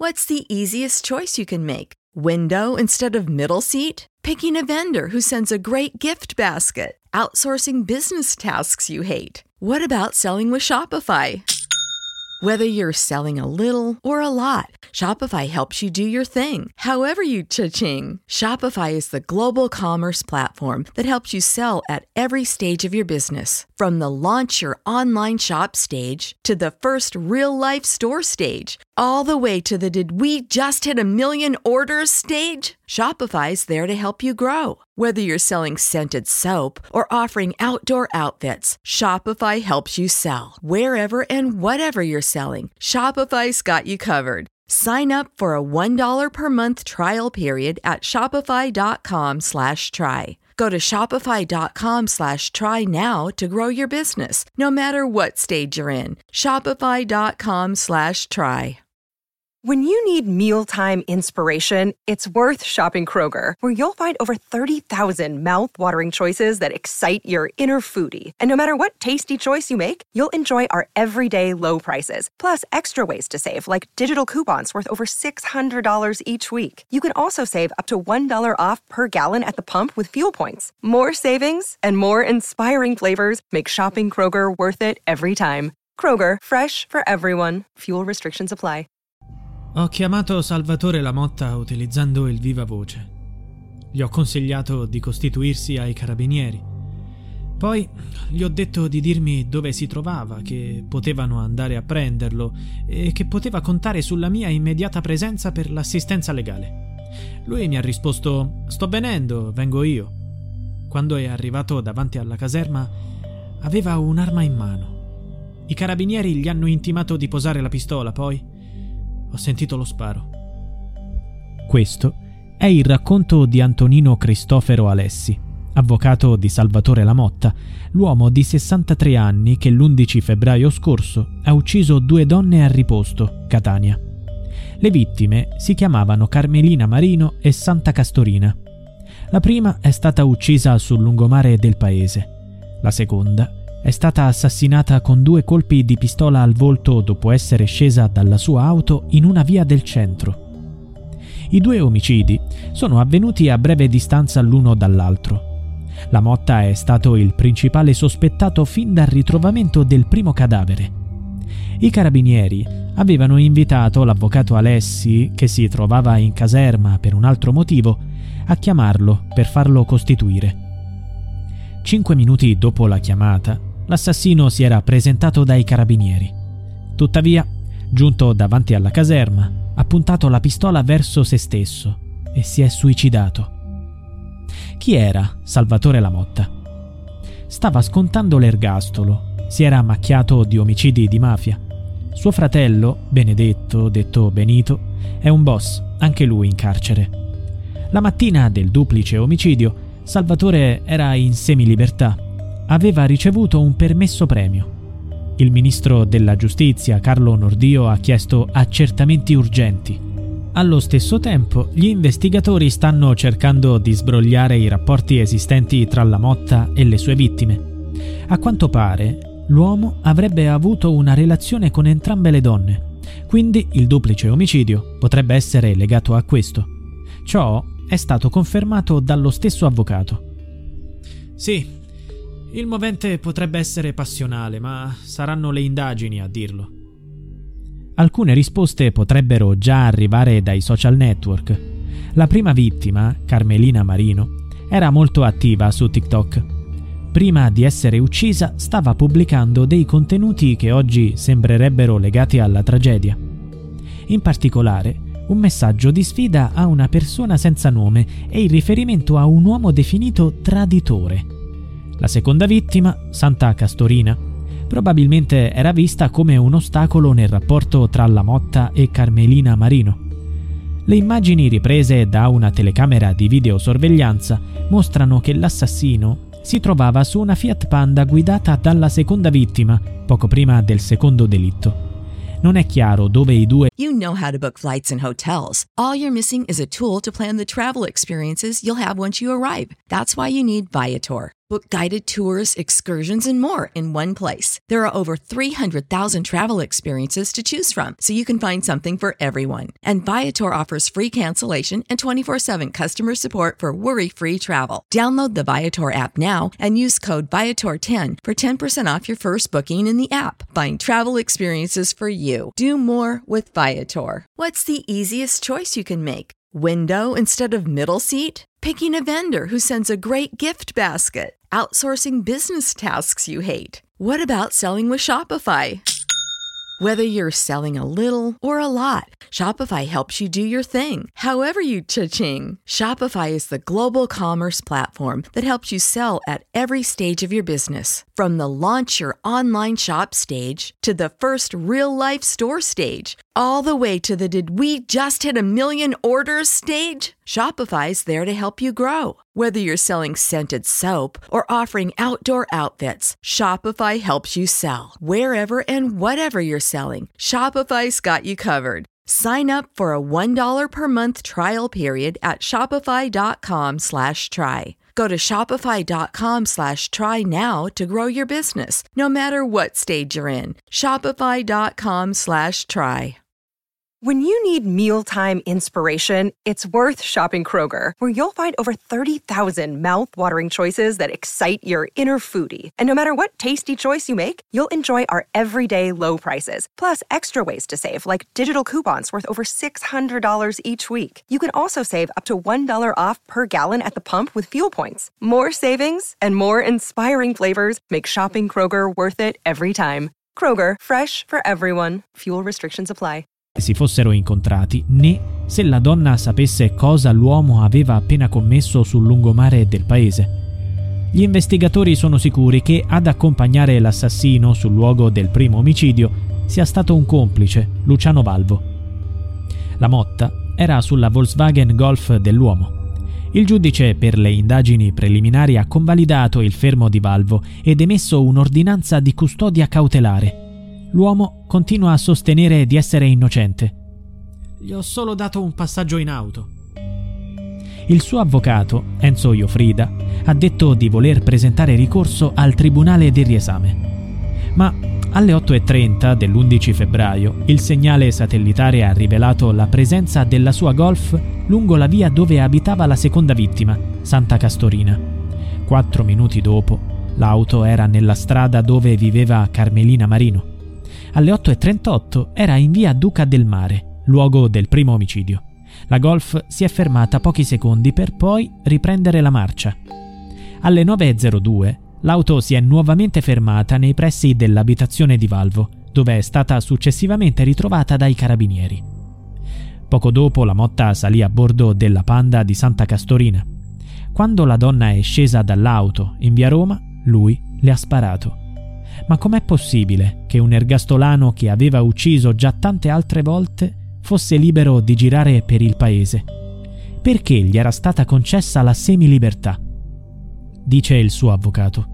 What's the easiest choice you can make? Window instead of middle seat? Picking a vendor who sends a great gift basket? Outsourcing business tasks you hate? What about selling with Shopify? Whether you're selling a little or a lot, Shopify helps you do your thing, however you cha-ching. Shopify is the global commerce platform that helps you sell at every stage of your business. From the launch your online shop stage to the first real-life store stage, all the way to the did we just hit a million orders stage? Shopify's there to help you grow. Whether you're selling scented soap or offering outdoor outfits, Shopify helps you sell. Wherever and whatever you're selling, Shopify's got you covered. Sign up for a $1 per month trial period at shopify.com/try. Go to shopify.com/try now to grow your business, no matter what stage you're in. Shopify.com/try. When you need mealtime inspiration, it's worth shopping Kroger, where you'll find over 30,000 mouth-watering choices that excite your inner foodie. And no matter what tasty choice you make, you'll enjoy our everyday low prices, plus extra ways to save, like digital coupons worth over $600 each week. You can also save up to $1 off per gallon at the pump with fuel points. More savings and more inspiring flavors make shopping Kroger worth it every time. Kroger, fresh for everyone. Fuel restrictions apply. Ho chiamato Salvatore Lamotta utilizzando il viva voce. Gli ho consigliato di costituirsi ai carabinieri. Poi gli ho detto di dirmi dove si trovava, che potevano andare a prenderlo e che poteva contare sulla mia immediata presenza per l'assistenza legale. Lui mi ha risposto: «Sto venendo, vengo io». Quando è arrivato davanti alla caserma, aveva un'arma in mano. I carabinieri gli hanno intimato di posare la pistola, poi ho sentito lo sparo. Questo è il racconto di Antonino Cristofero Alessi, avvocato di Salvatore Lamotta, l'uomo di 63 anni che l'11 febbraio scorso ha ucciso 2 donne a Riposto, Catania. Le vittime si chiamavano Carmelina Marino e Santa Castorina. La prima è stata uccisa sul lungomare del paese. La seconda è stata assassinata con 2 colpi di pistola al volto dopo essere scesa dalla sua auto in una via del centro. I 2 omicidi sono avvenuti a breve distanza l'uno dall'altro. Lamotta è stato il principale sospettato fin dal ritrovamento del primo cadavere. I carabinieri avevano invitato l'avvocato Alessi, che si trovava in caserma per un altro motivo, a chiamarlo per farlo costituire. 5 minuti dopo la chiamata, l'assassino si era presentato dai carabinieri. Tuttavia, giunto davanti alla caserma, ha puntato la pistola verso se stesso e si è suicidato. Chi era Salvatore Lamotta? Stava scontando l'ergastolo, si era macchiato di omicidi di mafia. Suo fratello, Benedetto, detto Benito, è un boss, anche lui in carcere. La mattina del duplice omicidio, Salvatore era in semilibertà. Aveva ricevuto un permesso premio. Il ministro della giustizia, Carlo Nordio, ha chiesto accertamenti urgenti. Allo stesso tempo, gli investigatori stanno cercando di sbrogliare i rapporti esistenti tra Lamotta e le sue vittime. A quanto pare, l'uomo avrebbe avuto una relazione con entrambe le donne, quindi il duplice omicidio potrebbe essere legato a questo. Ciò è stato confermato dallo stesso avvocato. Sì, il movente potrebbe essere passionale, ma saranno le indagini a dirlo. Alcune risposte potrebbero già arrivare dai social network. La prima vittima, Carmelina Marino, era molto attiva su TikTok. Prima di essere uccisa stava pubblicando dei contenuti che oggi sembrerebbero legati alla tragedia. In particolare, un messaggio di sfida a una persona senza nome e il riferimento a un uomo definito traditore. La seconda vittima, Santa Castorina, probabilmente era vista come un ostacolo nel rapporto tra Lamotta e Carmelina Marino. Le immagini riprese da una telecamera di videosorveglianza mostrano che l'assassino si trovava su una Fiat Panda guidata dalla seconda vittima, poco prima del secondo delitto. Non è chiaro dove i due... You know how to book flights and hotels. All you're missing is a tool to plan the travel experiences you'll have once you arrive. That's why you need Viator. Book guided tours, excursions, and more in one place. There are over 300,000 travel experiences to choose from, so you can find something for everyone. And Viator offers free cancellation and 24/7 customer support for worry-free travel. Download the Viator app now and use code Viator10 for 10% off your first booking in the app. Find travel experiences for you. Do more with Viator. What's the easiest choice you can make? Window instead of middle seat? Picking a vendor who sends a great gift basket? Outsourcing business tasks you hate? What about selling with Shopify? Whether you're selling a little or a lot, Shopify helps you do your thing, however you cha-ching. Shopify is the global commerce platform that helps you sell at every stage of your business. From the launch your online shop stage to the first real-life store stage, all the way to the did we just hit a million orders stage? Shopify's there to help you grow. Whether you're selling scented soap or offering outdoor outfits, Shopify helps you sell. Wherever and whatever you're selling, Shopify's got you covered. Sign up for a $1 per month trial period at shopify.com/try. Go to shopify.com/try now to grow your business, no matter what stage you're in. Shopify.com/try. When you need mealtime inspiration, it's worth shopping Kroger, where you'll find over 30,000 mouth-watering choices that excite your inner foodie. And no matter what tasty choice you make, you'll enjoy our everyday low prices, plus extra ways to save, like digital coupons worth over $600 each week. You can also save up to $1 off per gallon at the pump with fuel points. More savings and more inspiring flavors make shopping Kroger worth it every time. Kroger, fresh for everyone. Fuel restrictions apply. Si fossero incontrati, né se la donna sapesse cosa l'uomo aveva appena commesso sul lungomare del paese. Gli investigatori sono sicuri che ad accompagnare l'assassino sul luogo del primo omicidio sia stato un complice, Luciano Valvo. La Motta era sulla Volkswagen Golf dell'uomo. Il giudice per le indagini preliminari ha convalidato il fermo di Valvo ed emesso un'ordinanza di custodia cautelare. L'uomo continua a sostenere di essere innocente. Gli ho solo dato un passaggio in auto. Il suo avvocato, Enzo Iofrida, ha detto di voler presentare ricorso al Tribunale del riesame. Ma alle 8:30 dell'11 febbraio il segnale satellitare ha rivelato la presenza della sua Golf lungo la via dove abitava la seconda vittima, Santa Castorina. 4 minuti dopo, l'auto era nella strada dove viveva Carmelina Marino. Alle 8:38 era in via Duca del Mare, luogo del primo omicidio. La Golf si è fermata pochi secondi per poi riprendere la marcia. Alle 9:02 l'auto si è nuovamente fermata nei pressi dell'abitazione di Valvo, dove è stata successivamente ritrovata dai carabinieri. Poco dopo la Motta salì a bordo della Panda di Santa Castorina. Quando la donna è scesa dall'auto in via Roma, lui le ha sparato. Ma com'è possibile che un ergastolano che aveva ucciso già tante altre volte fosse libero di girare per il paese? Perché gli era stata concessa la semilibertà? Dice il suo avvocato.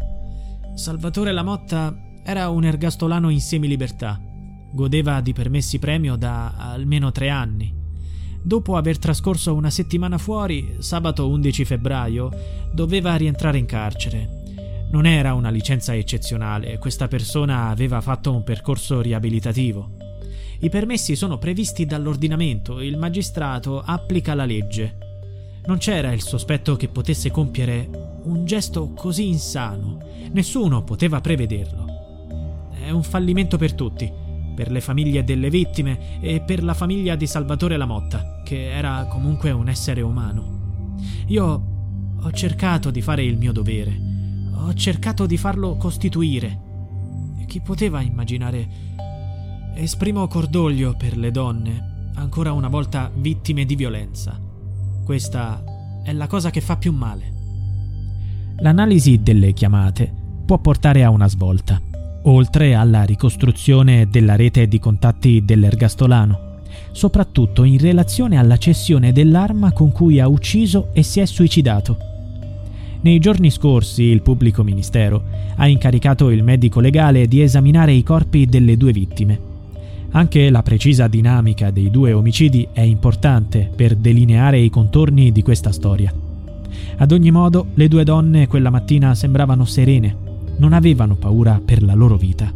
Salvatore La Motta era un ergastolano in semilibertà. Godeva di permessi premio da almeno 3 anni. Dopo aver trascorso una settimana fuori, sabato 11 febbraio, doveva rientrare in carcere. Non era una licenza eccezionale, questa persona aveva fatto un percorso riabilitativo. I permessi sono previsti dall'ordinamento, il magistrato applica la legge. Non c'era il sospetto che potesse compiere un gesto così insano, nessuno poteva prevederlo. È un fallimento per tutti, per le famiglie delle vittime e per la famiglia di Salvatore La Motta, che era comunque un essere umano. Io ho cercato di fare il mio dovere. Ho cercato di farlo costituire. Chi poteva immaginare? Esprimo cordoglio per le donne, ancora una volta vittime di violenza. Questa è la cosa che fa più male. L'analisi delle chiamate può portare a una svolta, oltre alla ricostruzione della rete di contatti dell'ergastolano, soprattutto in relazione alla cessione dell'arma con cui ha ucciso e si è suicidato. Nei giorni scorsi il pubblico ministero ha incaricato il medico legale di esaminare i corpi delle 2 vittime. Anche la precisa dinamica dei 2 omicidi è importante per delineare i contorni di questa storia. Ad ogni modo, le due donne quella mattina sembravano serene, non avevano paura per la loro vita.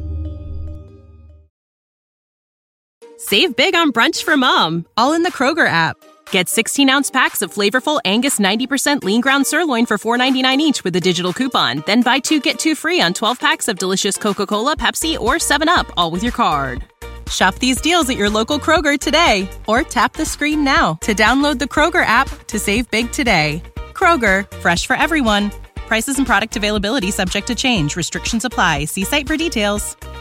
Save big on brunch for mom, all in the Kroger app. Get 16-ounce packs of flavorful Angus 90% lean ground sirloin for $4.99 each with a digital coupon. Then buy 2, get 2 free on 12 packs of delicious Coca-Cola, Pepsi, or 7-Up, all with your card. Shop these deals at your local Kroger today, or tap the screen now to download the Kroger app to save big today. Kroger, fresh for everyone. Prices and product availability subject to change. Restrictions apply. See site for details.